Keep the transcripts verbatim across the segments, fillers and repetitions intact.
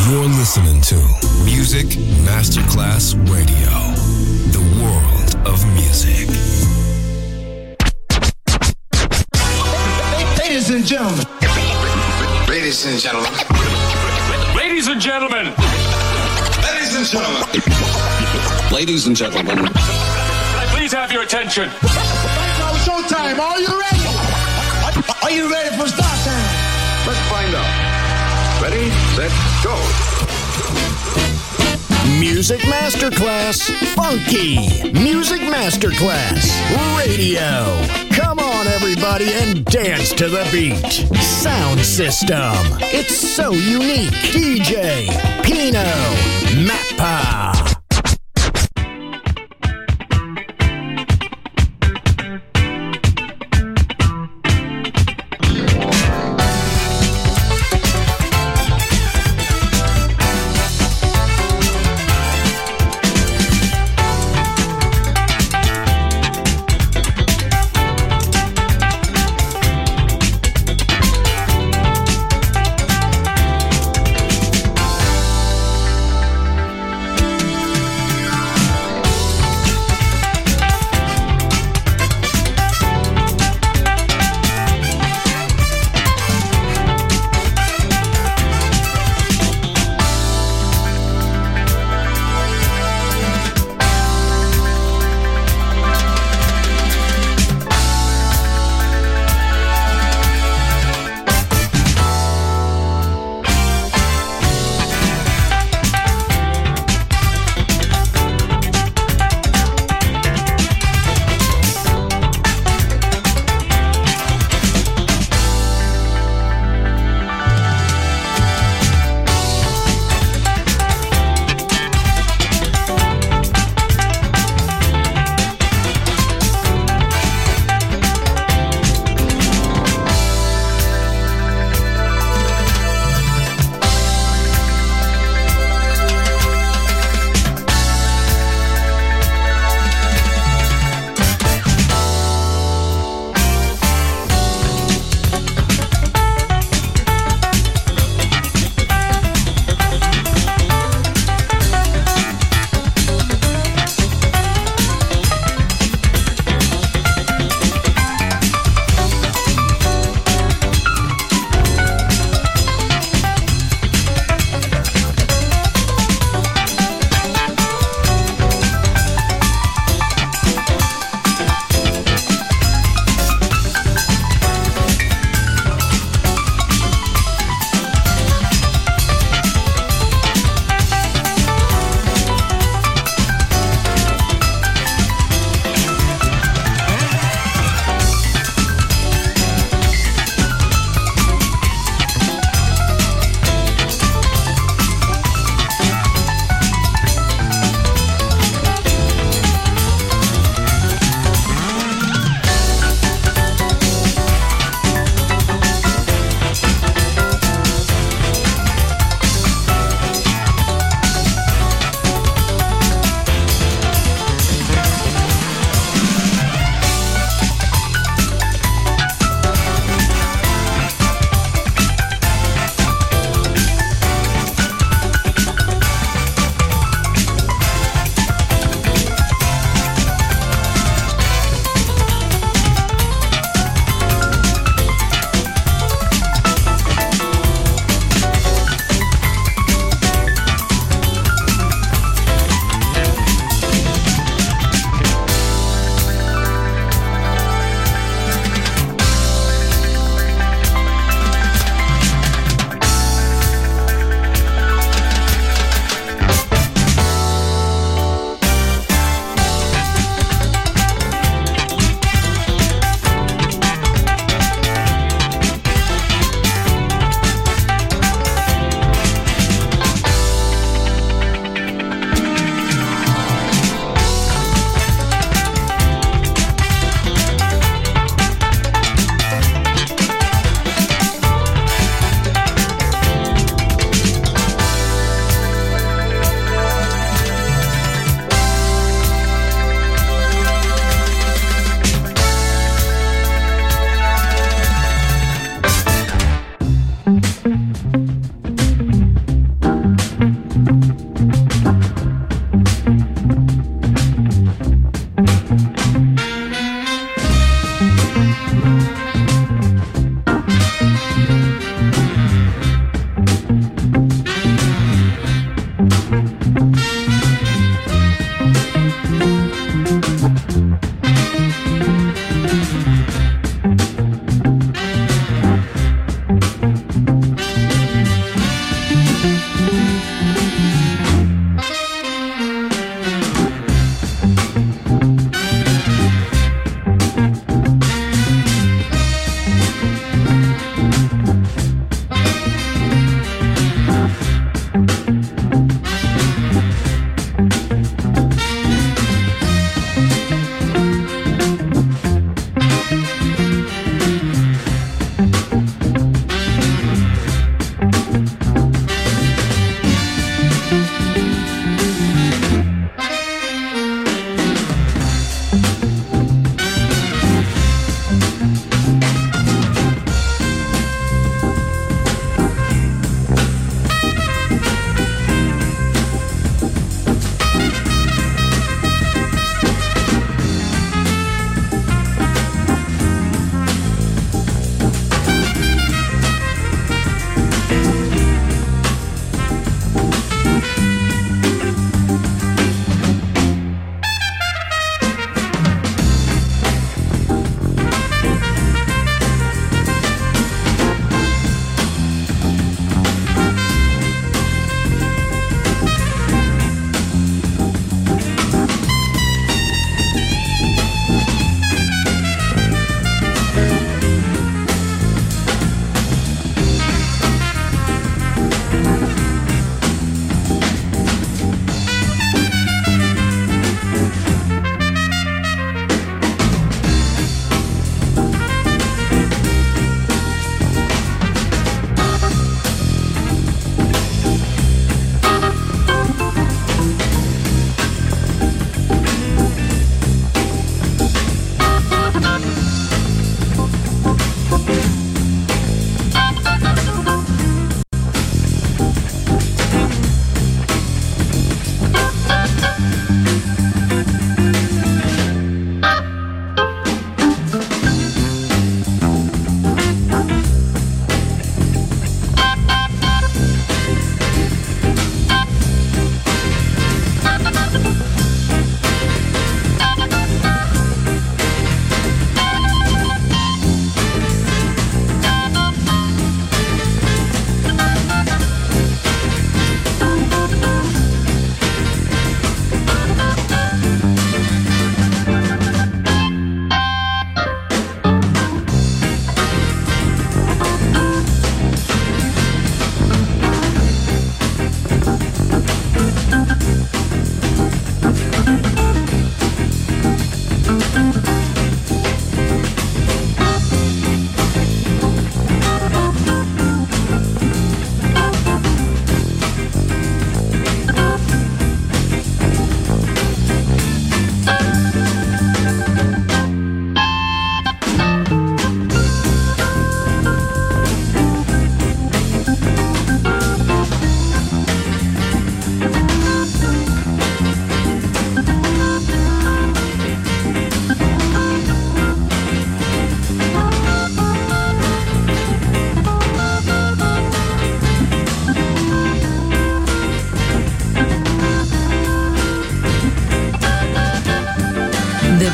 You're listening to Music Masterclass Radio, the world of music. Ladies and gentlemen. Ladies and gentlemen. Ladies and gentlemen. Ladies and gentlemen. Ladies and gentlemen. Can I please have your attention? Right now, showtime. Are you ready? Are you ready for start time? Let's find out. Ready, set, go. Music Masterclass Funky. Music Masterclass Radio. Come on, everybody, and dance to the beat. Sound system. It's so unique. D J Pino Mappa.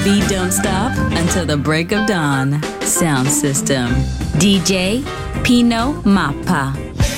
beat don't stop until the break of dawn. Sound system. D J Pino Mappa.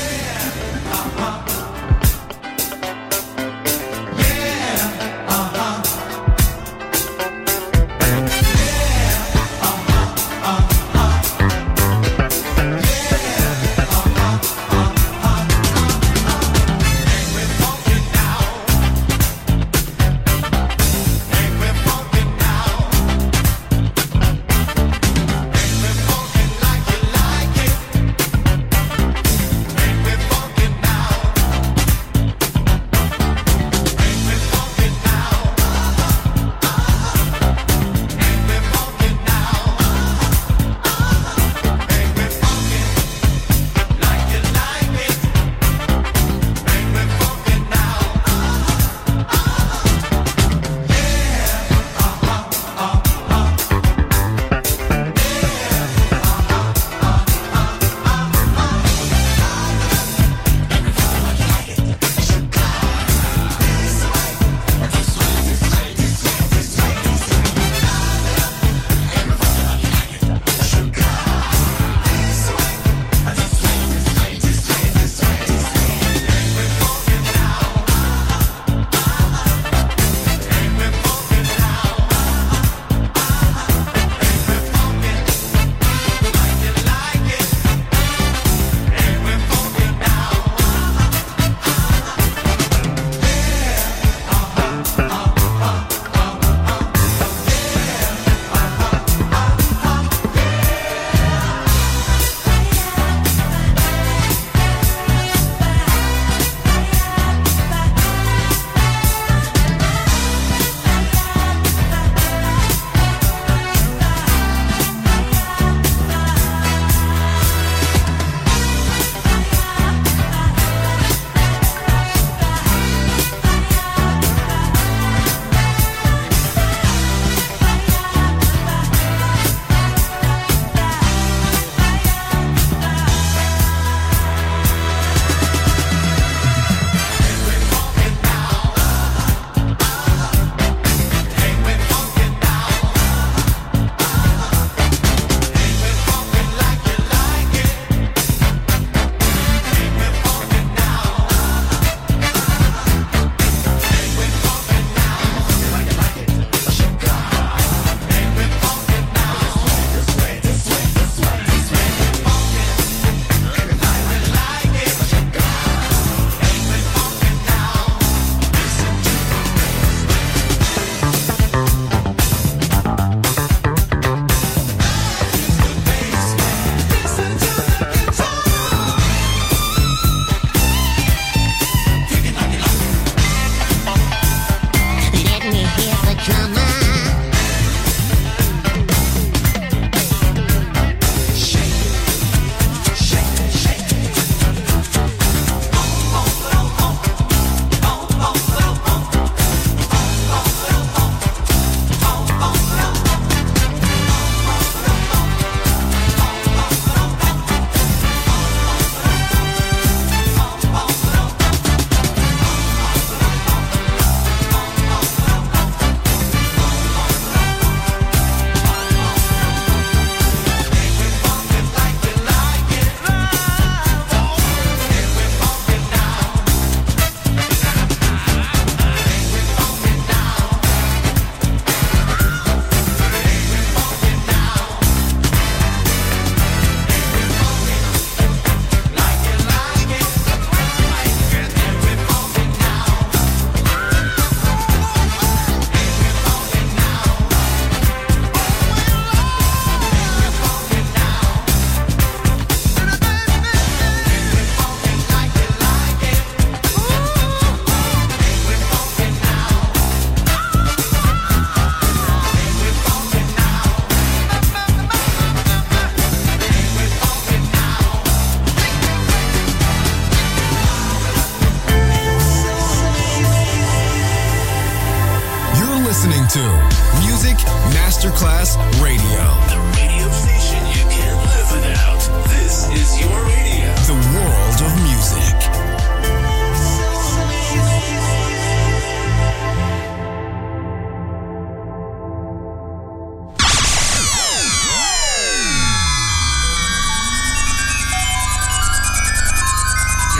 Masterclass Radio. The radio station you can't live without. This is your radio. The world of music.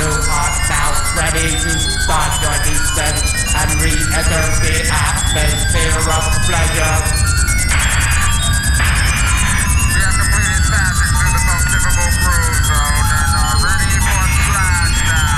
new art now, ready to start your descent and re-enter the atmosphere of pleasure. We have completed passage through the most difficult groove zone and are ready for splashdown.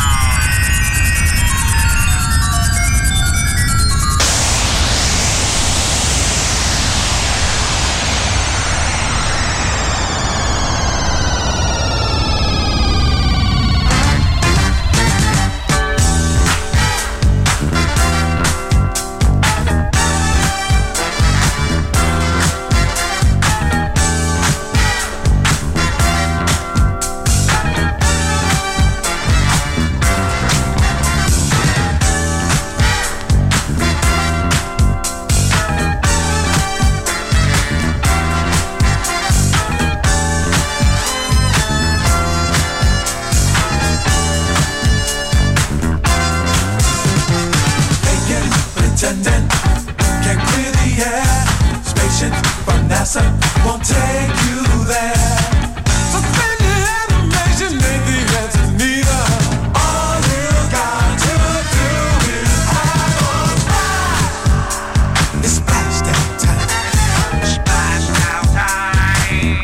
Won't take you there. Suspended animation ain't the answer neither. All you got to do is have a splash. It's splashdown time. Splashdown time.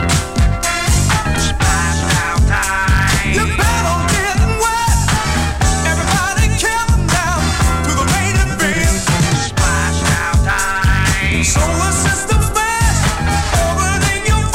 Splashdown time. You better get wet. Everybody killing down to the raging beat. Splashdown time. Solar system. Over in your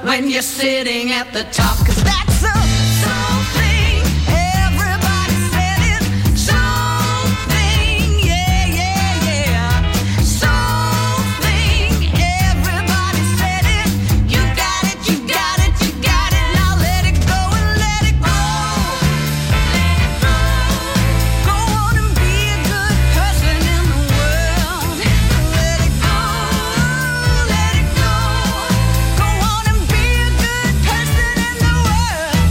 when you're sitting at the top, 'cause that's a something. Everybody said it. Something, yeah, yeah, yeah. Something. Everybody said it. You got it, you got it, you got it. Now let it go and let it go. Let it go. Go on and be a good person in the world. Let it go. Let it go. Go on and be a good person in the world.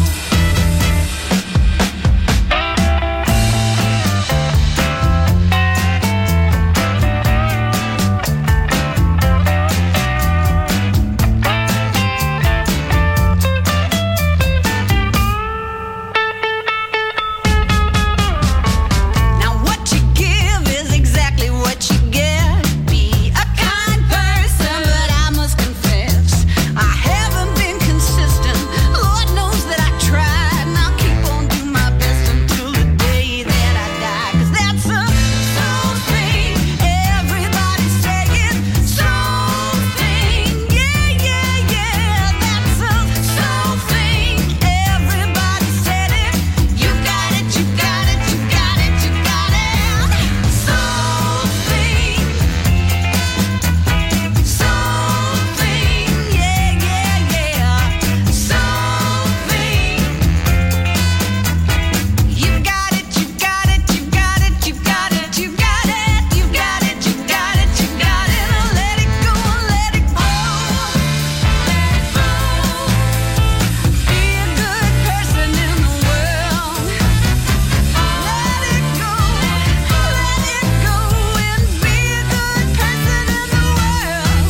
Now what you give is exactly what you get. Be a kind person, but I must confess I haven't been consistent. Lord knows that I tried, and I'll keep on doing my best until the day that I die. 'Cause that's a something. Everybody say it. Something. Yeah, yeah, yeah. That's a something. Everybody said it. You got it, you got it, you got it, you got it. Something. Something. Yeah, yeah, yeah. Something. You got it, you got it, you got it, you got it, you got it, you got it, you got it, you got it. Now let it go, let it go. Let it go. Be a good person in the world. Let it go, let it go, and be a good person in the world.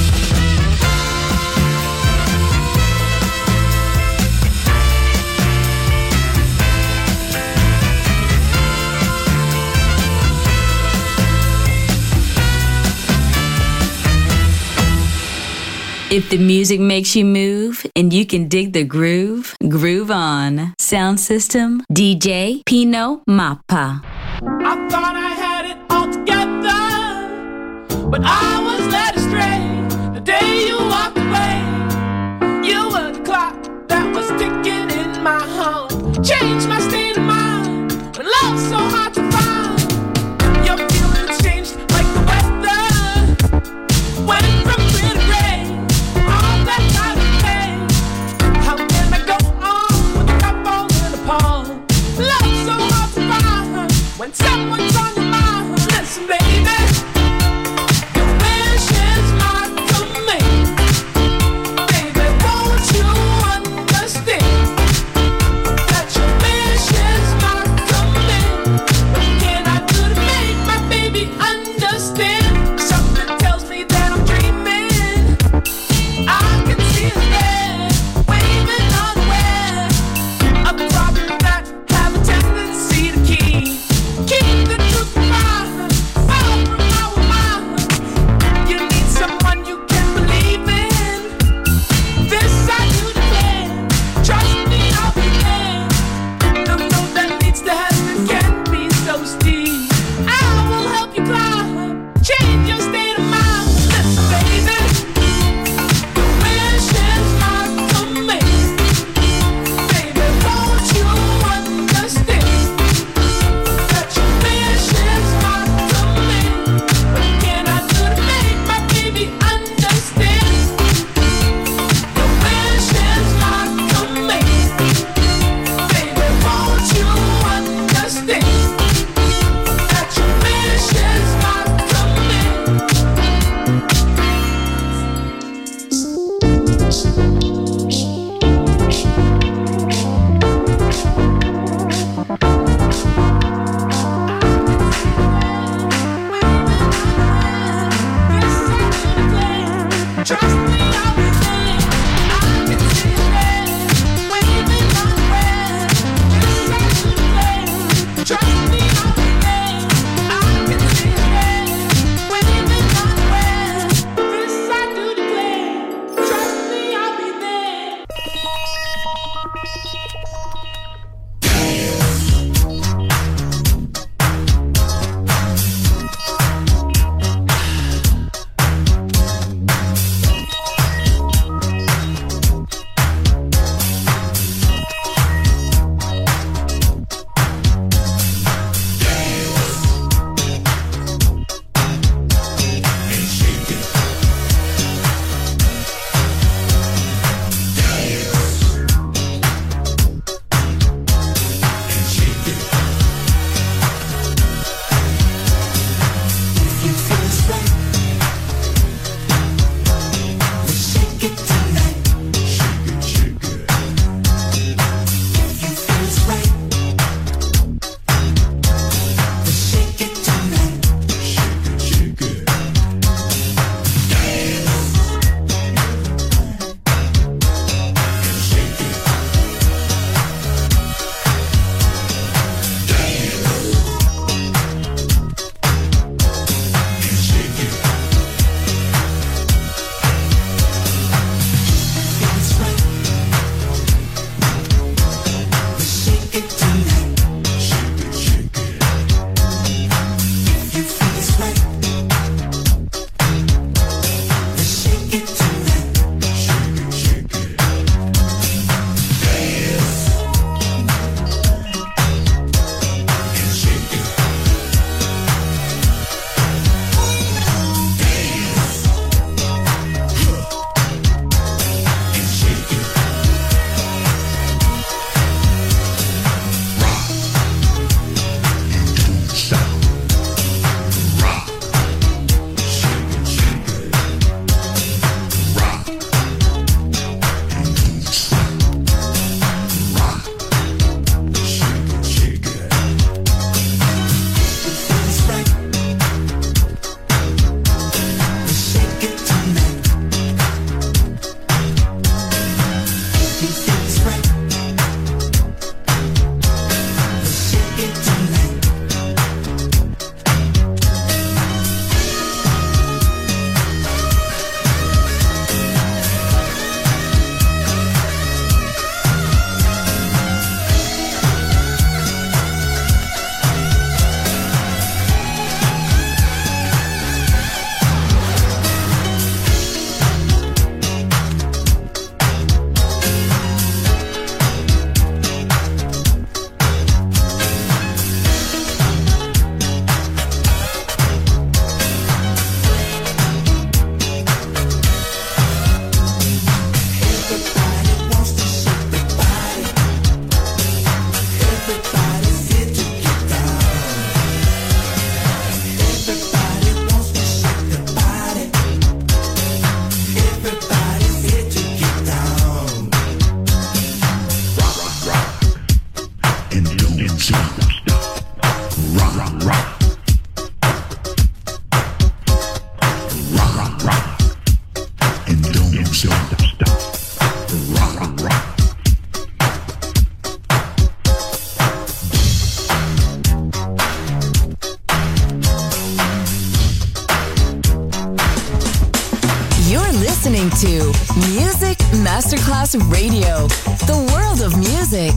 If the music makes you move and you can dig the groove, groove on. Sound system, D J Pino Mappa. I thought I had it all together, but I was led astray the day you walked away. You were the clock that was ticking in my heart. Changed my state of mind when love's so hard to find. Your feelings changed like the weather. Went from clear to gray, all that time to pay. How can I go on with the cup falling apart? Love's so hard to find when someone's on your mind. Listen, baby, your wish is my command. Baby, won't you understand that your wish is my command? What can I do to make my baby understand? Something tells me that I'm dreaming. I can see his head waving unaware of problems that have a tendency to keep keep the truth behind, far from our minds. You need someone you can believe in. This I do declare. Trust me, I'll be there. The road that leads to heaven can be so steep. I will help you climb. Change your state of mind. Listen, baby, your wish is my command. Baby, won't you understand that your wish is my command? What can I do to make my baby understand? Your wish is my command. Baby, won't you understand that your wish is my Trust me, I'll be there. I can see it there, waving unaware. Yes, I do declare. Trust me, I'll be there. I can see it there, waving unaware. Yes, I do declare. Trust me, I'll be there. listening to Music Masterclass Radio, the world of music.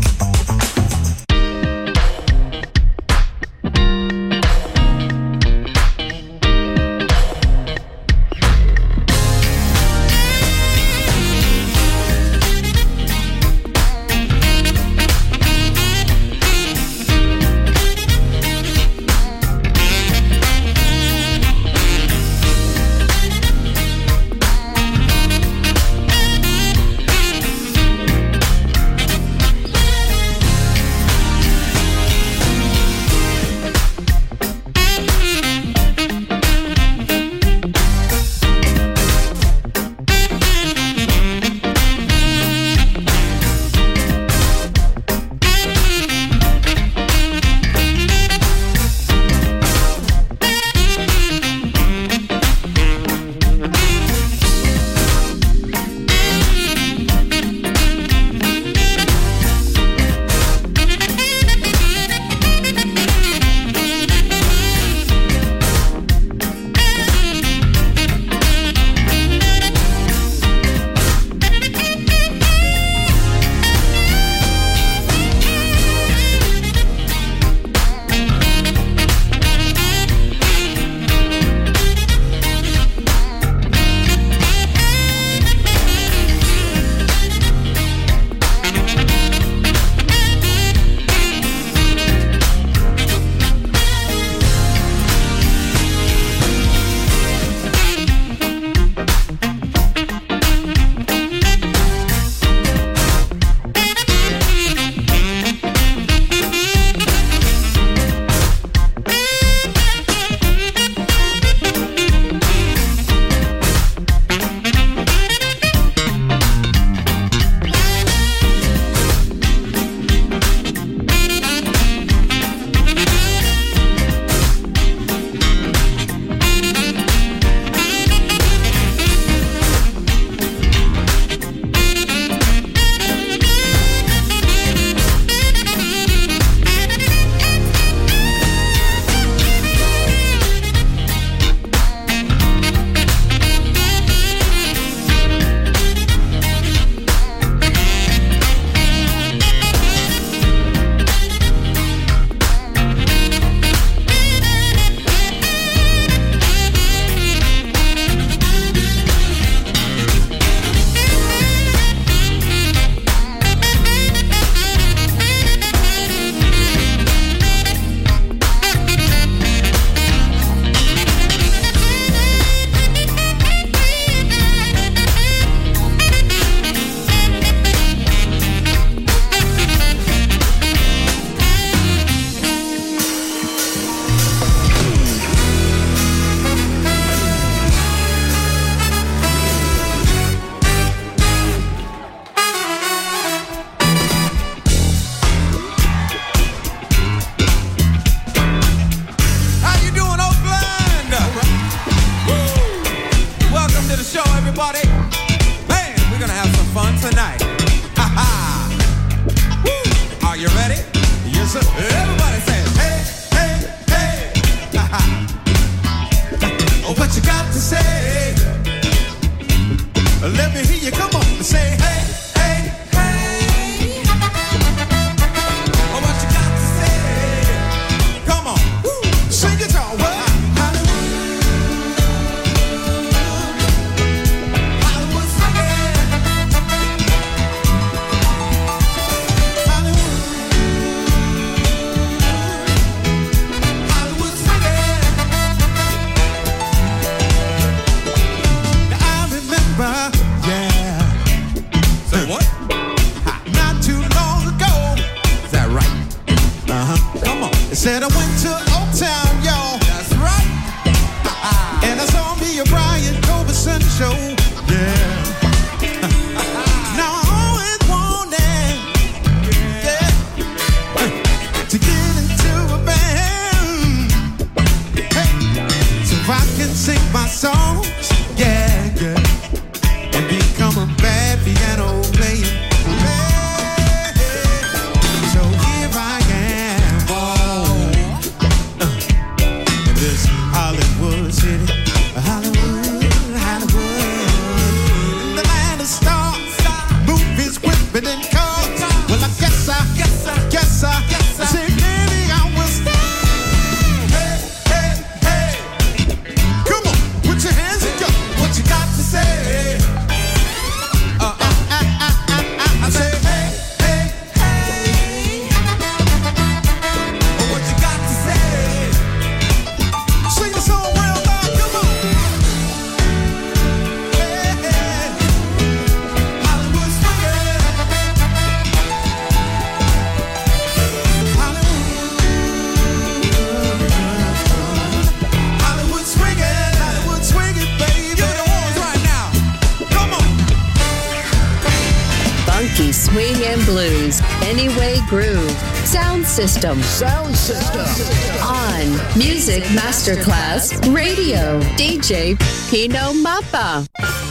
blues. Anyway Groove. Sound System. Sound System. On Music Masterclass Radio. D J Pino Mappa.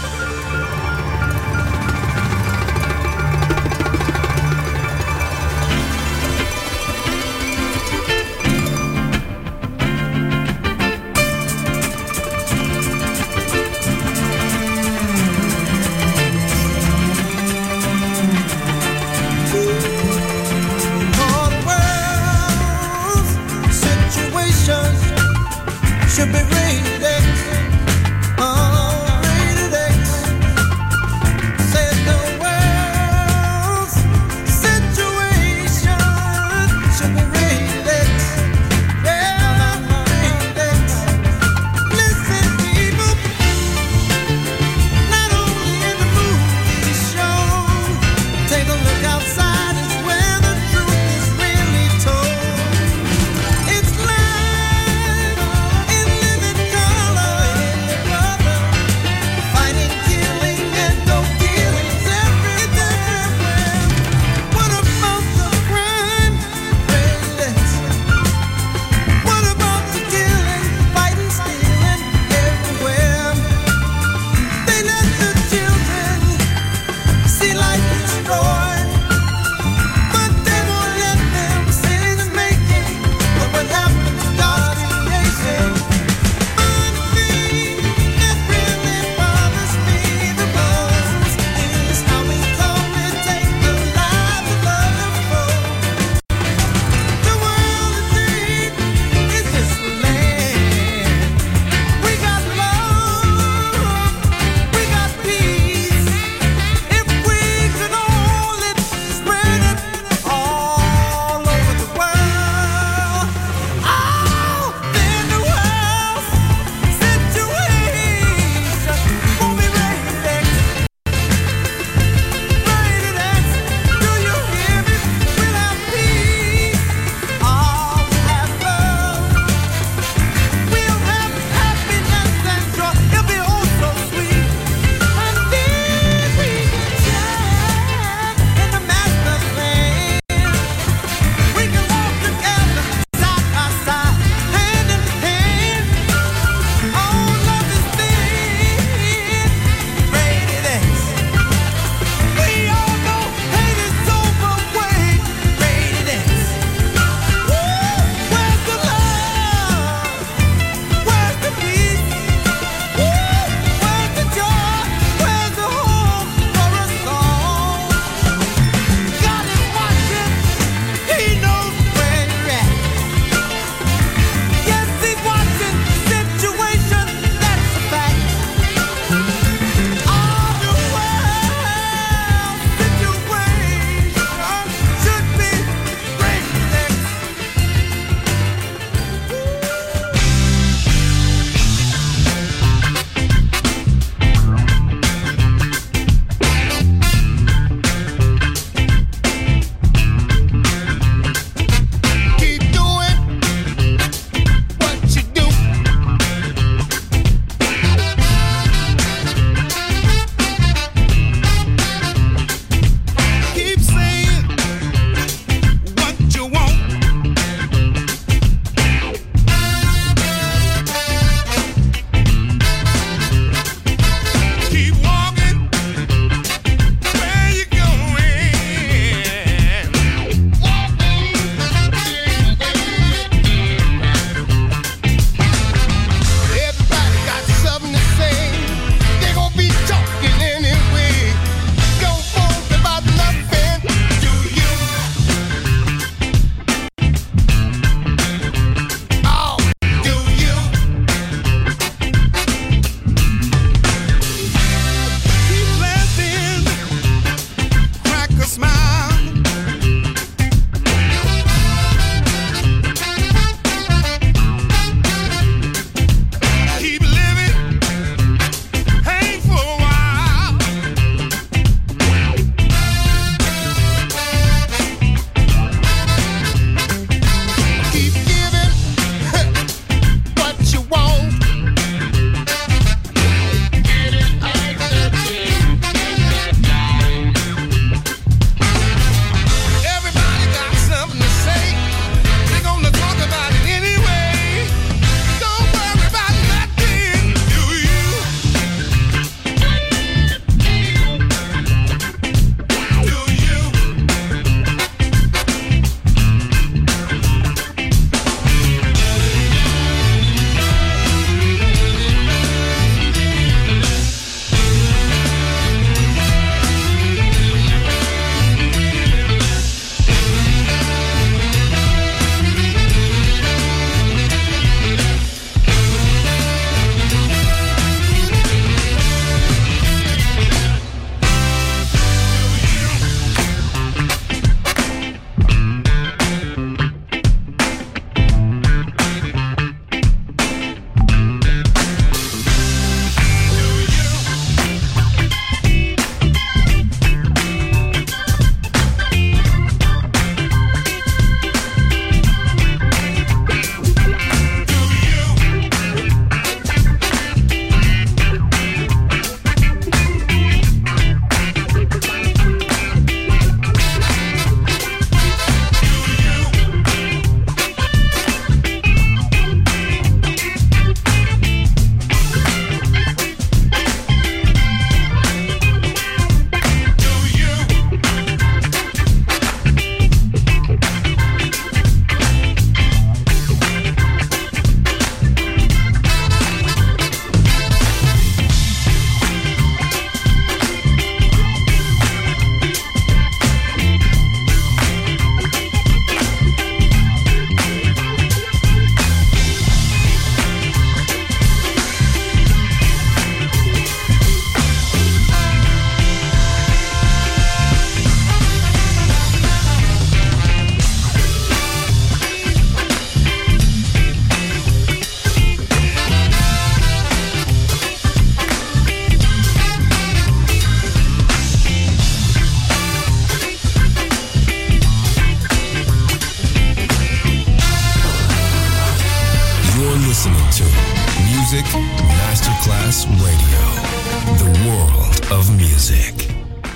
Should be rated X, oh, rated X. Said the world's situation should be rated X, yeah, rated X. Listen, people, not only in the movie show, take a look outside, it's where the truth is really told. It's life. to Music Masterclass Radio, the world of music.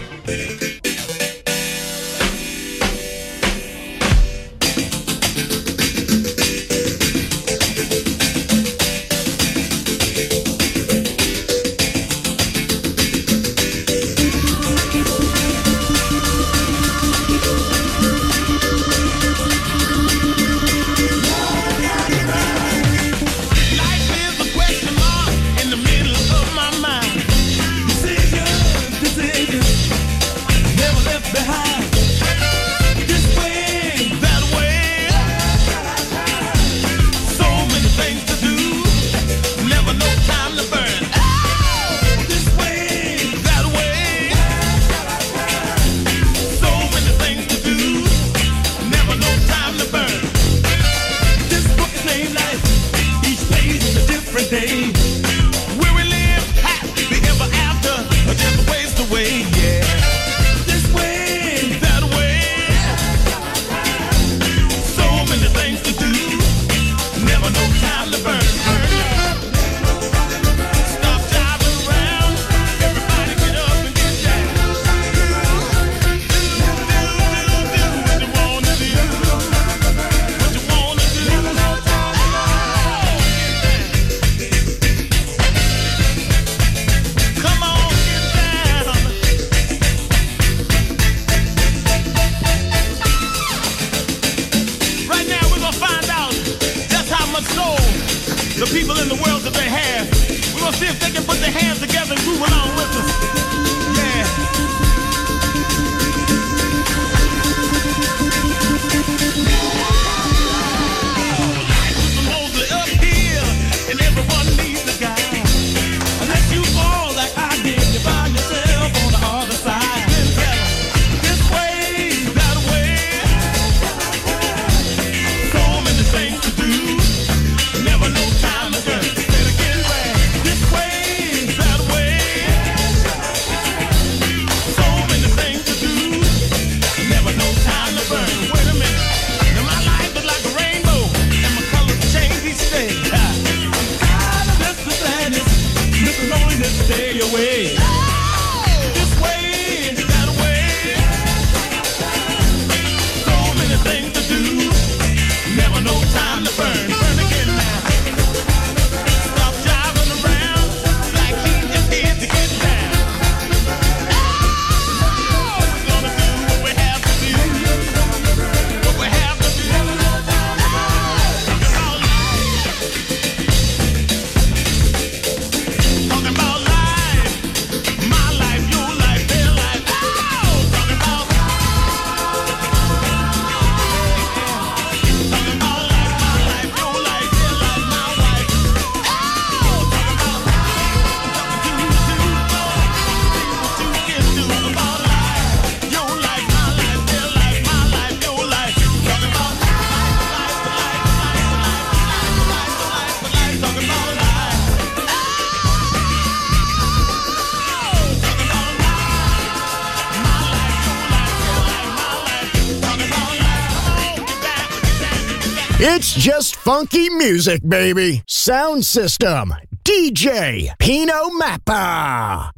It's just funky music, baby. Sound System, D J Pino Mappa.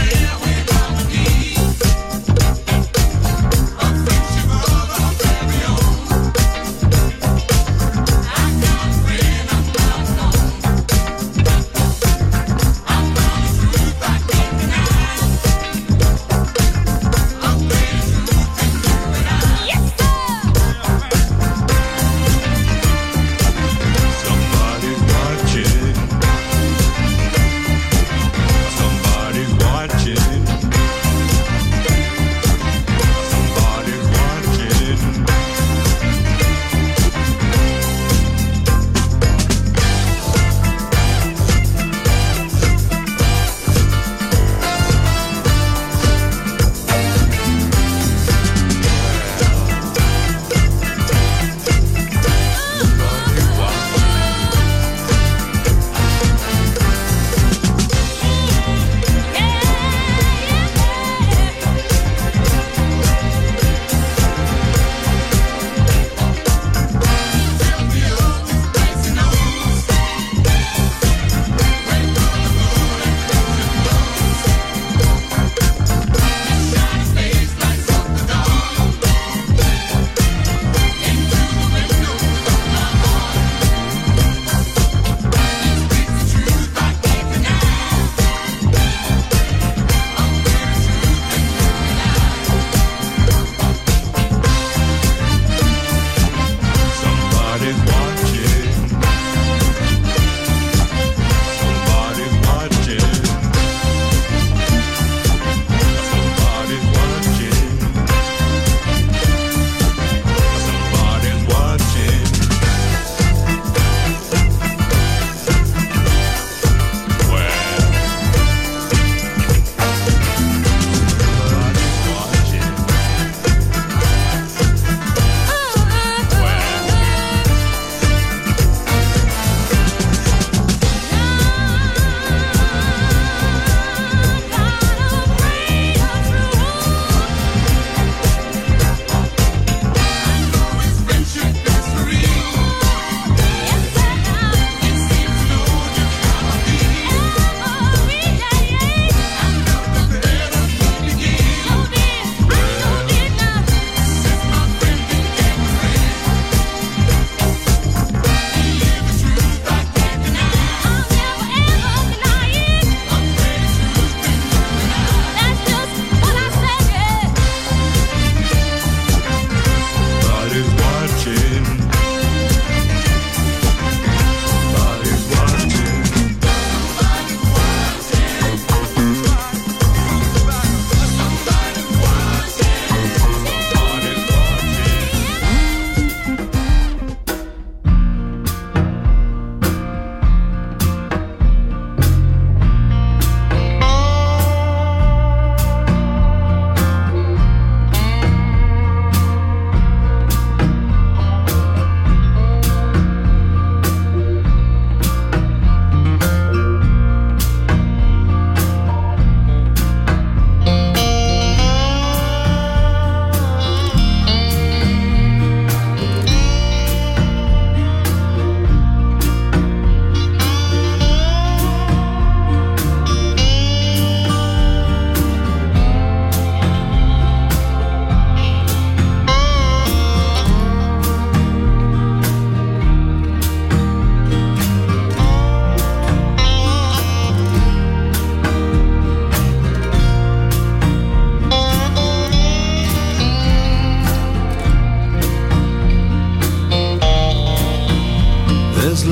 Stereo.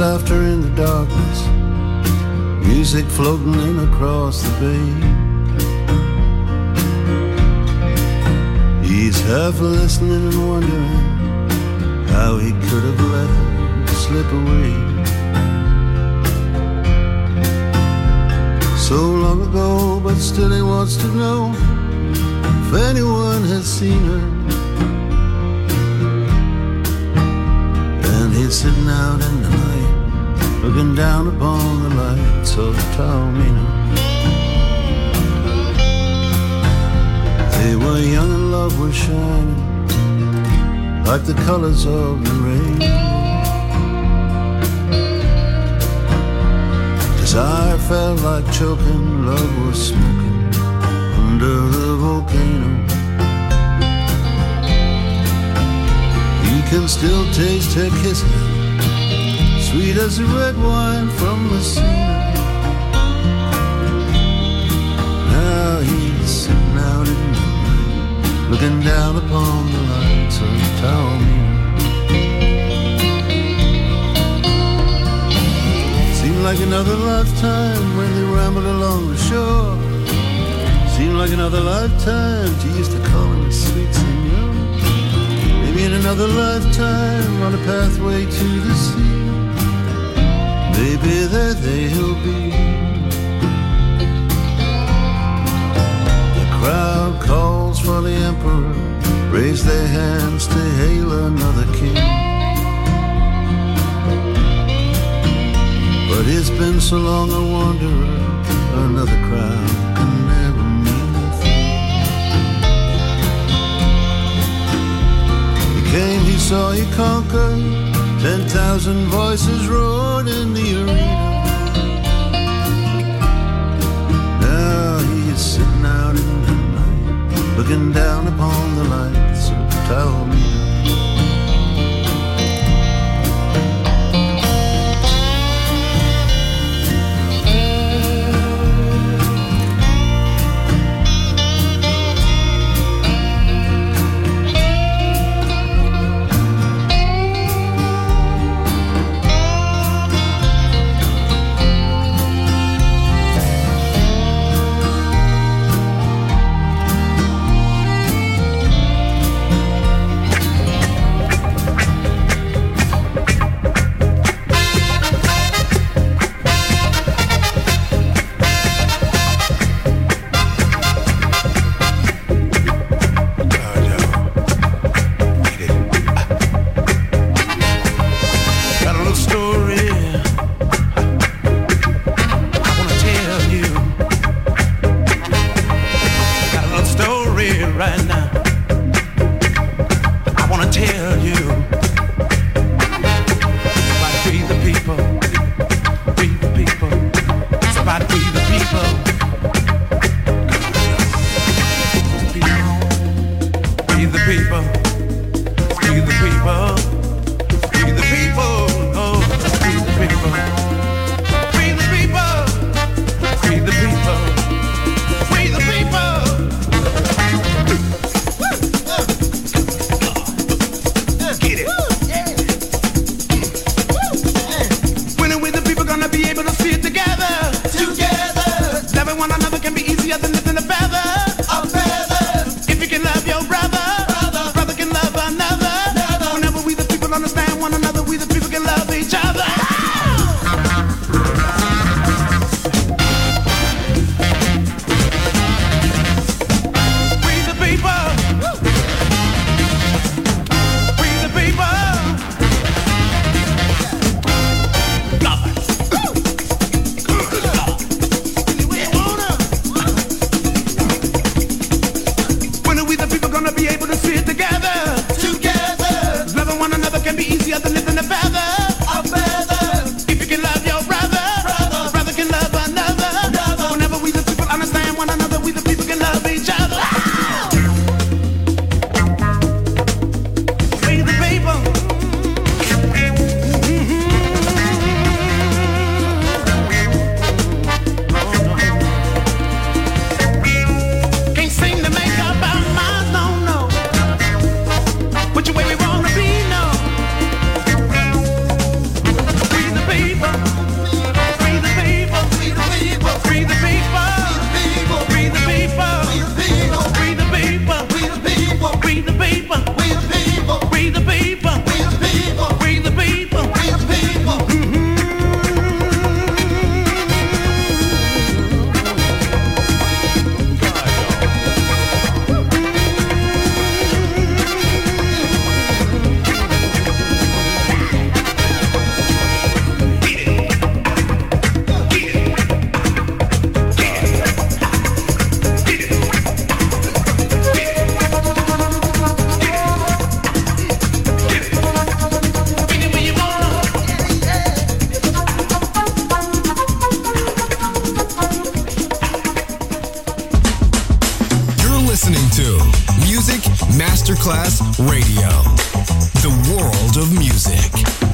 laughter in the darkness, music floating in across the bay. He's half listening and wondering how he could have let her slip away. So long ago, but still he wants to know if anyone has seen her. And he's sitting out in the night, looking down upon the lights of Taormina. They were young and love was shining like the colors of the rain. Desire felt like choking, love was smoking under the volcano. He can still taste her kisses, sweet as the red wine from Messina. Now he's sitting out in the night, looking down upon the lights of Taormina. Seemed like another lifetime when they rambled along the shore. Seemed like another lifetime she used to call him sweet senor. Maybe in another lifetime on a pathway to the sea. Maybe there they'll be. The crowd calls for the emperor, raise their hands to hail another king. But it's been so long a wanderer, another crowd can never mean a thing. He came, he saw, he conquered. Ten thousand voices roared in the arena. Now he is sitting out in the night, looking down upon the lights of Taormina. listening to Music Masterclass Radio, the world of music.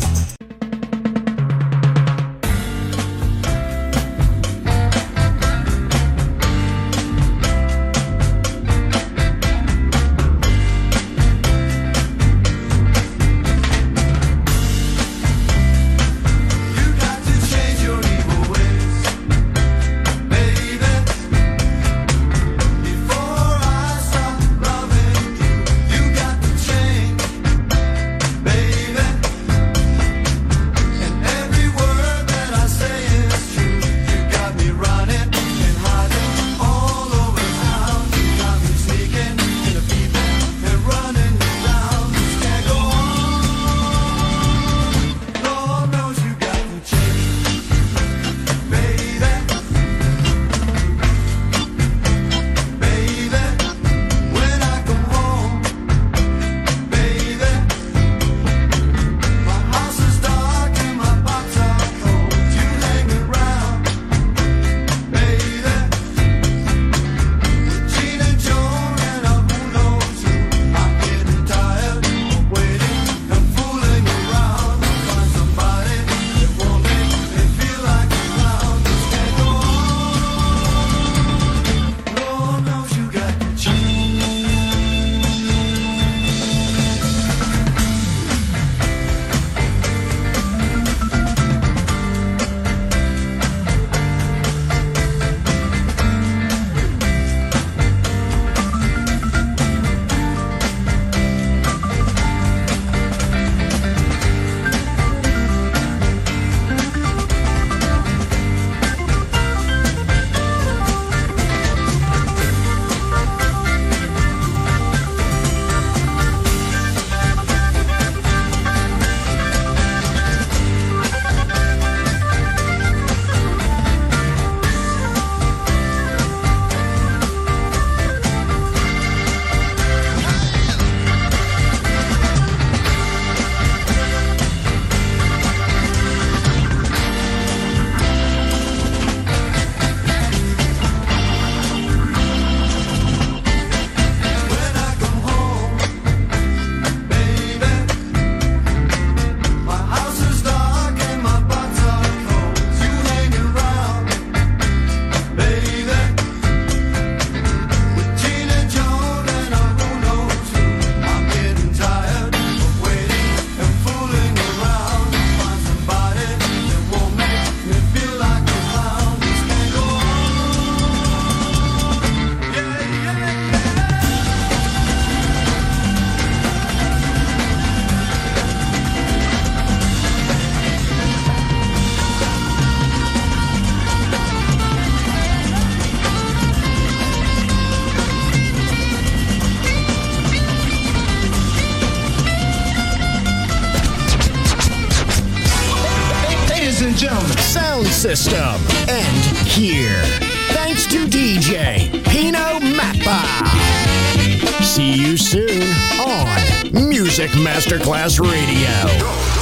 Sound System, and here. Thanks to D J Pino Mappa. See you soon on Music Masterclass Radio.